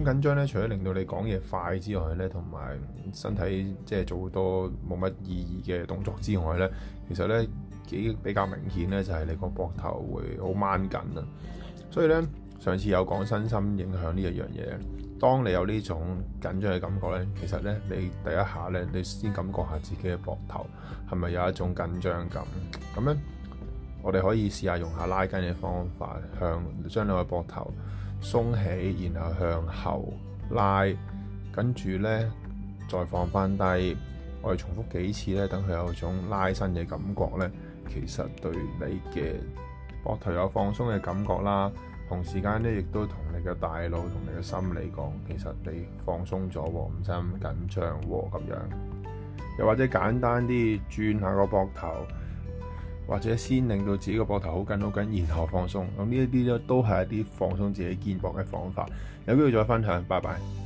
咁緊張咧，除咗令到你講嘢快之外咧，同埋身體即係做好多冇乜意義嘅動作之外咧，其實咧比較明顯咧，就係你個膊頭會好掹緊啊。所以咧，上次有講身心影響呢一樣嘢。當你有呢種緊張嘅感覺咧，其實咧你第一下咧，你先感覺下自己嘅膊頭係咪有一種緊張感。咁咧，我哋可以試下用下拉筋嘅方法，將你個膊頭鬆起，然後向後拉，跟住咧再放翻低。我哋重複幾次咧，等佢有種拉伸嘅感覺咧，其實對你嘅膊頭有放鬆嘅感覺啦。同時間咧，亦都同你嘅大腦同你嘅心理講，其實你放鬆咗喎，唔使咁緊張喎咁樣。又或者簡單啲轉下個膊頭，或者先令到自己個膊頭好緊好緊，然後放鬆。咁呢一啲咧都係一啲放鬆自己肩膊嘅方法。有機會再分享，拜拜。